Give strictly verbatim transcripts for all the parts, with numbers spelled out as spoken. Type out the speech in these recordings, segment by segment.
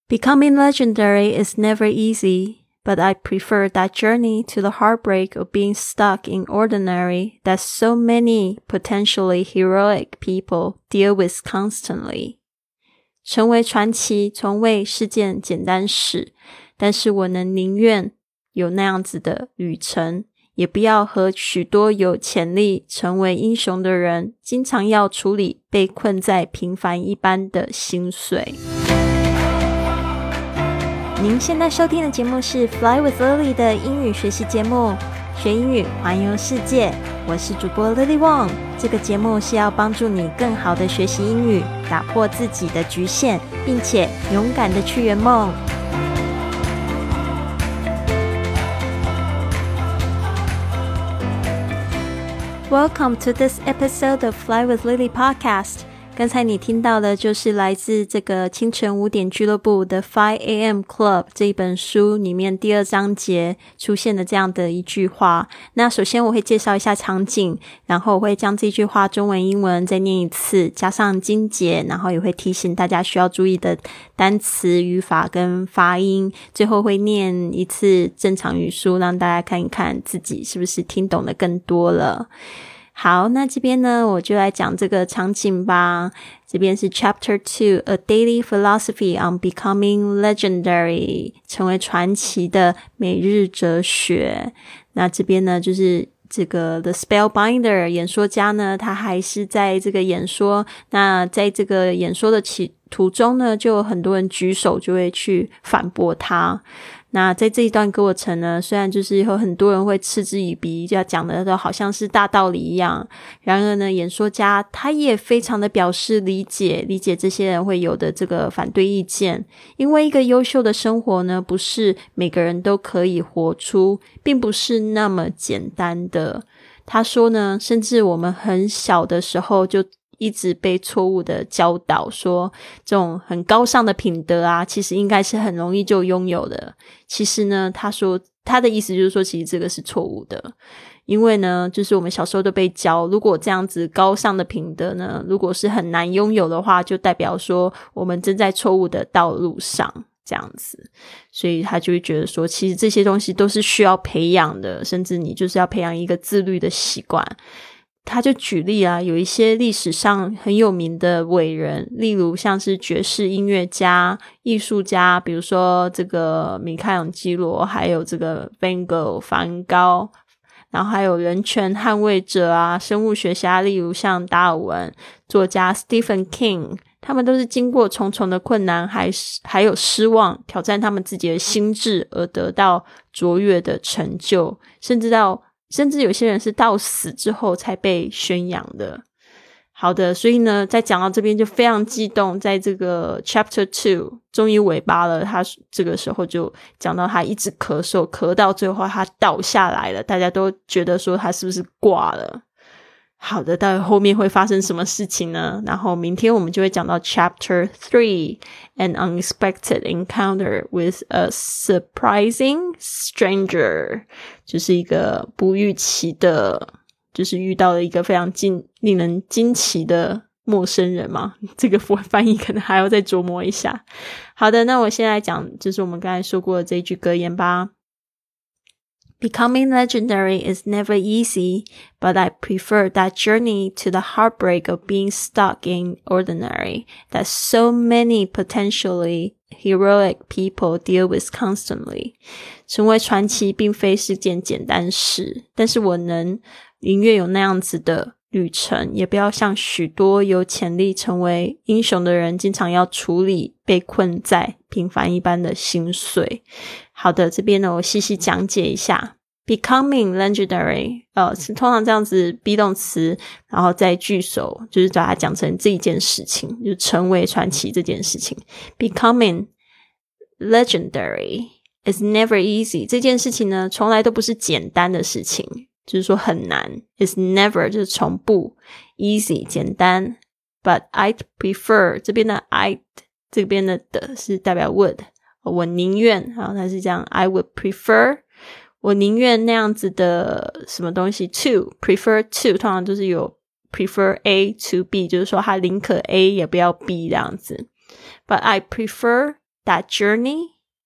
Becoming legendary is never easy, but I prefer that journey to the heartbreak of being stuck in ordinary that so many potentially heroic people deal with constantly. 成为传奇从未是件简单事，但是我能宁愿有那样子的旅程，也不要和许多有潜力成为英雄的人经常要处理被困在平凡一般的心碎。您现在收听的节目是 Fly with Lily 的英语学习节目，学英语环游世界。我是主播 Lily Wong， 这个节目是要帮助你更好的学习英语，打破自己的局限，并且勇敢的去圆梦。Welcome to this episode of Fly with Lily podcast. 刚才你听到的就是来自这个清晨五点俱乐部的 five a m Club 这一本书里面第二章节出现的这样的一句话。那首先我会介绍一下场景，然后我会将这句话中文英文再念一次，加上精简，然后也会提醒大家需要注意的单词、语法跟发音，最后会念一次正常语速，让大家看一看自己是不是听懂的更多了。好，那这边呢我就来讲这个场景吧。这边是 Chapter two, A Daily Philosophy on Becoming Legendary, 成为传奇的每日哲学。那这边呢就是这个 The Spellbinder 演说家呢，他还是在这个演说，那在这个演说的其途中呢，就有很多人举手就会去反驳他。那在这一段过程呢，虽然就是有很多人会嗤之以鼻，就要讲的都好像是大道理一样，然而呢，演说家他也非常的表示理解，理解这些人会有的这个反对意见，因为一个优秀的生活呢，不是每个人都可以活出，并不是那么简单的。他说呢，甚至我们很小的时候就一直被错误的教导说这种很高尚的品德啊，其实应该是很容易就拥有的。其实呢，他说他的意思就是说其实这个是错误的，因为呢就是我们小时候都被教，如果这样子高尚的品德呢如果是很难拥有的话，就代表说我们正在错误的道路上这样子。所以他就会觉得说其实这些东西都是需要培养的，甚至你就是要培养一个自律的习惯。他就举例啊，有一些历史上很有名的伟人，例如像是爵士音乐家、艺术家，比如说这个米开朗基罗，还有这个 Van Gogh 梵高，然后还有人权捍卫者啊，生物学家，例如像达尔文，作家 Stephen King， 他们都是经过重重的困难还还有失望，挑战他们自己的心智而得到卓越的成就，甚至到甚至有些人是到死之后才被宣扬的。好的，所以呢在讲到这边就非常激动，在这个 Chapter two 终于尾巴了，他这个时候就讲到他一直咳嗽，咳到最后他倒下来了，大家都觉得说他是不是挂了。好的，到底后面会发生什么事情呢？然后明天我们就会讲到 Chapter three, An Unexpected Encounter with a Surprising Stranger， 就是一个不预期的，就是遇到了一个非常惊令人惊奇的陌生人嘛，这个翻译可能还要再琢磨一下。好的，那我现在讲就是我们刚才说过的这一句格言吧。Becoming legendary is never easy, but I prefer that journey to the heartbreak of being stuck in ordinary that so many potentially heroic people deal with constantly. 成为传奇并非是件简单事，但是我能宁愿有那样子的旅程，也不要像许多有潜力成为英雄的人经常要处理被困在平凡一般的心碎。好的，这边呢我细细讲解一下。Becoming legendary 呃，是通常这样子 be 动词然后再句首，就是把它讲成这一件事情，就是成为传奇这件事情。Becoming legendary is never easy， 这件事情呢从来都不是简单的事情，就是说很难。is never 就是从不， easy 简单。 But I'd prefer 这边的 I'd 这边的的是代表 would， 我宁愿，好，它是这样 I would prefer， 我宁愿那样子的什么东西 to prefer to 通常就是有 prefer A to B， 就是说他宁可 A 也不要 B 这样子。But I prefer that journey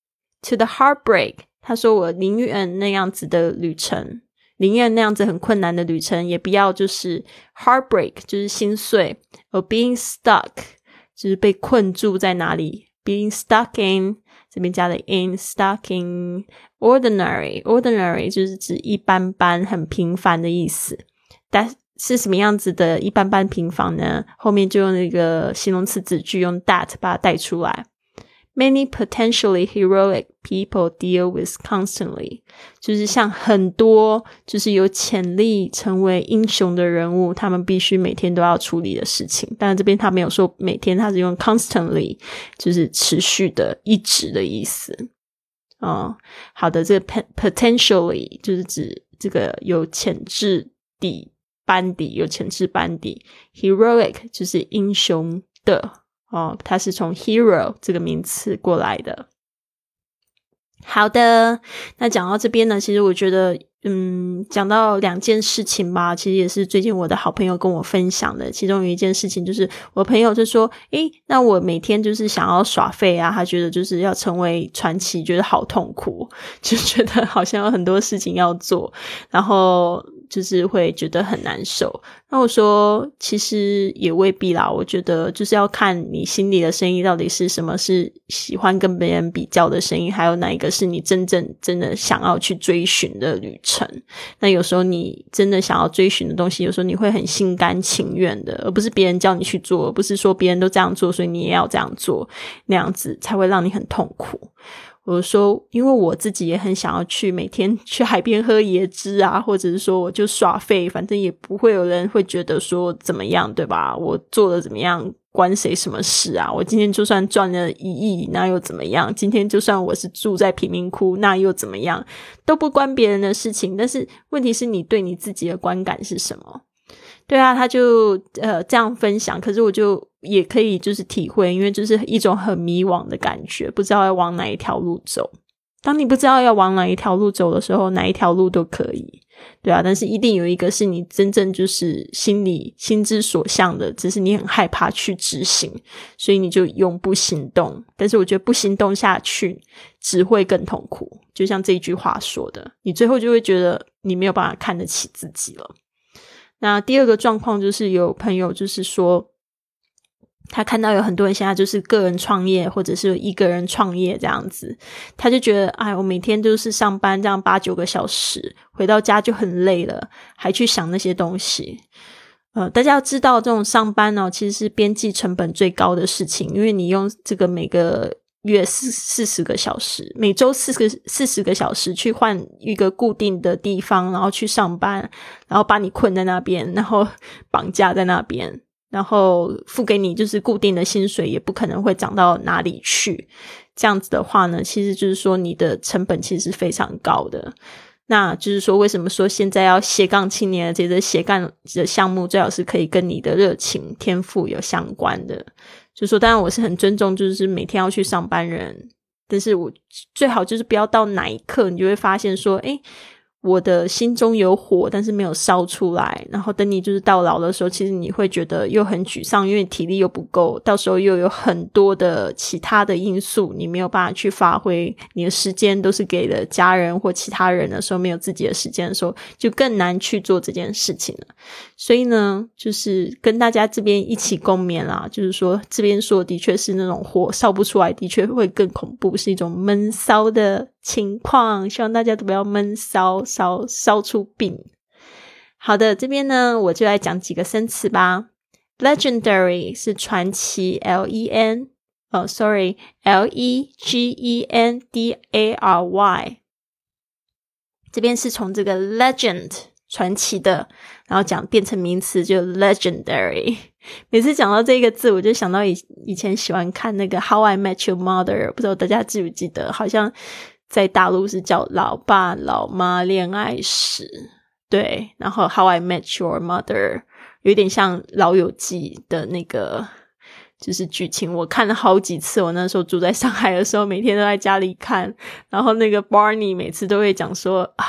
to the heartbreak. 他说我宁愿那样子的旅程，宁愿那样子很困难的旅程，也不要就是 heartbreak 就是心碎， or being stuck 就是被困住在哪里， being stuck in 这边加了 in stuck in ordinary ordinary 就是指一般般很平凡的意思。但是什么样子的一般般平凡呢？后面就用那个形容词子句用 that 把它带出来。Many potentially heroic people deal with constantly 就是像很多就是有潜力成为英雄的人物，他们必须每天都要处理的事情。当然这边他没有说每天，他是用 constantly 就是持续的一直的意思。哦，好的，这个 potentially 就是指这个有潜质底班底，有潜质班底。 heroic 就是英雄的哦，它是从 hero 这个名词过来的。好的，那讲到这边呢，其实我觉得嗯，讲到两件事情吧，其实也是最近我的好朋友跟我分享的。其中有一件事情就是我朋友就说诶，那我每天就是想要耍废啊，他觉得就是要成为传奇，觉得好痛苦，就觉得好像有很多事情要做，然后就是会觉得很难受。那我说其实也未必啦，我觉得就是要看你心里的声音到底是什么，是喜欢跟别人比较的声音，还有哪一个是你真正真的想要去追寻的旅程。那有时候你真的想要追寻的东西，有时候你会很心甘情愿的，而不是别人叫你去做，而不是说别人都这样做所以你也要这样做，那样子才会让你很痛苦。我说因为我自己也很想要去每天去海边喝椰汁啊，或者是说我就耍废，反正也不会有人会觉得说怎么样，对吧？我做的怎么样关谁什么事啊？我今天就算赚了一亿那又怎么样？今天就算我是住在贫民窟那又怎么样？都不关别人的事情。但是问题是你对你自己的观感是什么？对啊，他就呃这样分享，可是我就也可以就是体会，因为就是一种很迷惘的感觉，不知道要往哪一条路走。当你不知道要往哪一条路走的时候，哪一条路都可以，对啊，但是一定有一个是你真正就是心里心之所向的，只是你很害怕去执行，所以你就永不行动。但是我觉得不行动下去只会更痛苦，就像这一句话说的，你最后就会觉得你没有办法看得起自己了。那第二个状况就是有朋友就是说他看到有很多人现在就是个人创业或者是一个人创业这样子，他就觉得哎，我每天就是上班这样八九个小时，回到家就很累了，还去想那些东西。呃，大家要知道这种上班哦，其实是边际成本最高的事情，因为你用这个每个月四四十个小时，每周四个四十个小时去换一个固定的地方，然后去上班，然后把你困在那边，然后绑架在那边，然后付给你就是固定的薪水，也不可能会涨到哪里去。这样子的话呢，其实就是说你的成本其实是非常高的。那就是说为什么说现在要斜杠青年，这个斜杠的项目最好是可以跟你的热情天赋有相关的。就说当然我是很尊重就是每天要去上班人，但是我最好就是不要到哪一刻你就会发现说诶，我的心中有火但是没有烧出来，然后等你就是到老的时候，其实你会觉得又很沮丧，因为体力又不够，到时候又有很多的其他的因素你没有办法去发挥，你的时间都是给了家人或其他人的时候，没有自己的时间的时候，就更难去做这件事情了。所以呢就是跟大家这边一起共勉啦，就是说这边说的确是那种火烧不出来，的确会更恐怖，是一种闷烧的情况，希望大家都不要闷烧烧烧出病。好的，这边呢我就来讲几个生词吧。 Legendary 是传奇 L E N 哦 sorry L E G E N D A R Y， 这边是从这个 legend 传奇的，然后讲变成名词就 legendary。 每次讲到这个字我就想到以以前喜欢看那个 How I Met Your Mother， 不知道大家记不记得，好像在大陆是叫老爸老妈恋爱史，对，然后 How I Met Your Mother 有点像老友记的那个就是剧情，我看了好几次，我那时候住在上海的时候每天都在家里看，然后那个 Barney 每次都会讲说啊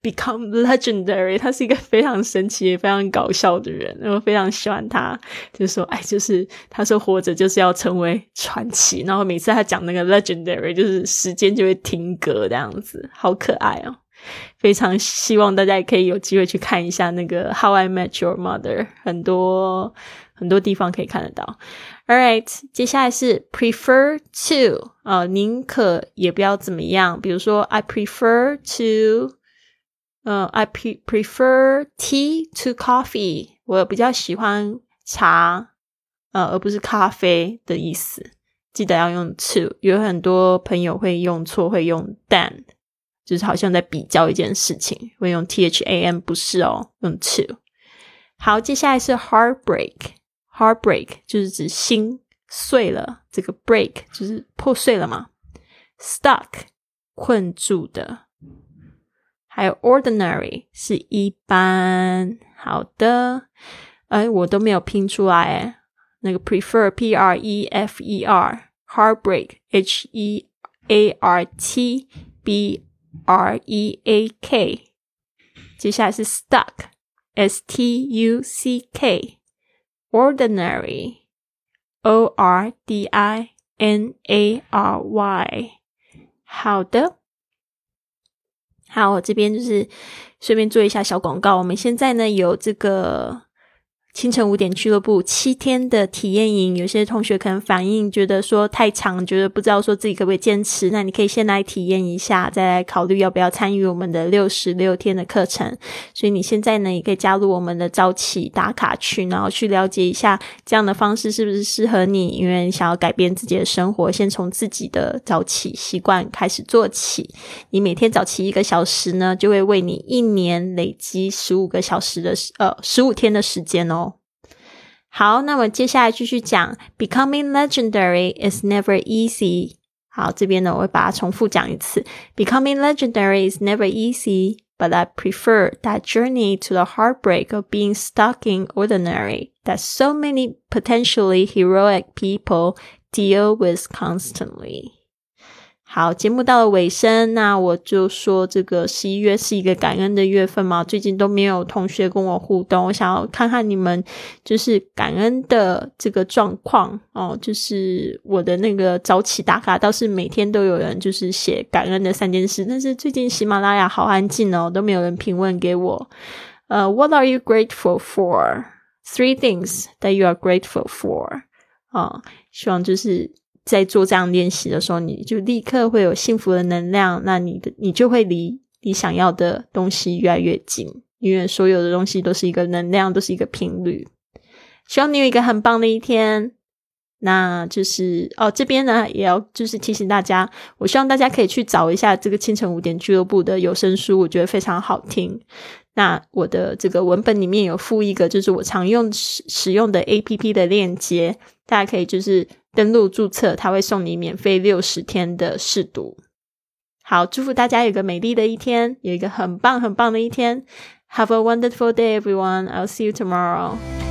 become legendary， 他是一个非常神奇也非常搞笑的人，我非常喜欢他，就是说哎，就是他说活着就是要成为传奇，然后每次他讲那个 legendary 就是时间就会停格这样子，好可爱哦。非常希望大家也可以有机会去看一下那个 How I Met Your Mother， 很多很多地方可以看得到。 Alright， 接下来是 prefer to， 呃，宁可也不要怎么样，比如说 I prefer to呃 I pre- prefer tea to coffee， 我比较喜欢茶呃，而不是咖啡的意思，记得要用 to， 有很多朋友会用错，会用 than，就是好像在比较一件事情，会用 T H A M， 不是哦，用 to。 好，接下来是 heartbreak， heartbreak 就是指心碎了，这个 break 就是破碎了嘛。 stuck 困住的，还有 ordinary 是一般。好的，哎，我都没有拼出来诶，那个 prefer P R E F E R， heartbreak H E A R T B R E A K， 接下来是 stuck S T U C K， ordinary O R D I N A R Y。 好的，好，我这边就是顺便做一下小广告，我们现在呢有这个清晨五点俱乐部七天的体验营，有些同学可能反应觉得说太长，觉得不知道说自己可不可以坚持，那你可以先来体验一下，再来考虑要不要参与我们的六十六天的课程。所以你现在呢也可以加入我们的早起打卡群，然后去了解一下这样的方式是不是适合你，因为你想要改变自己的生活，先从自己的早起习惯开始做起。你每天早起一个小时呢，就会为你一年累积十五个小时的呃十五天的时间哦。好，那我接下来继续讲 Becoming legendary is never easy。 好，这边呢我会把它重复讲一次。 Becoming legendary is never easy, but I prefer that journey to the heartbreak of being stuck in ordinary that so many potentially heroic people deal with constantly。好，节目到了尾声，那我就说这个十一月是一个感恩的月份嘛，最近都没有同学跟我互动，我想要看看你们就是感恩的这个状况哦，就是我的那个早起打卡倒是每天都有人就是写感恩的三件事，但是最近喜马拉雅好安静哦，都没有人评论给我。呃、uh, What are you grateful for? Three things that you are grateful for。 哦，希望就是在做这样练习的时候，你就立刻会有幸福的能量，那你的你就会离你想要的东西越来越近，因为所有的东西都是一个能量，都是一个频率。希望你有一个很棒的一天。那就是哦，这边呢也要就是提醒大家，我希望大家可以去找一下这个清晨五点俱乐部的有声书，我觉得非常好听。那我的这个文本里面有附一个就是我常用使使用的 A P P 的链接，大家可以就是登录注册，它会送你免费六十天的试读。好，祝福大家有个美丽的一天，有一个很棒很棒的一天。Have a wonderful day, everyone. I'll see you tomorrow.